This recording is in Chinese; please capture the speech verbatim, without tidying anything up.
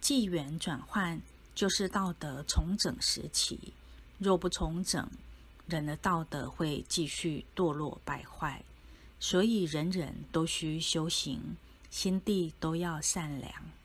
纪元转换就是道德重整时期，若不重整，人的道德会继续堕落败坏。所以人人都需修行，心地都要善良。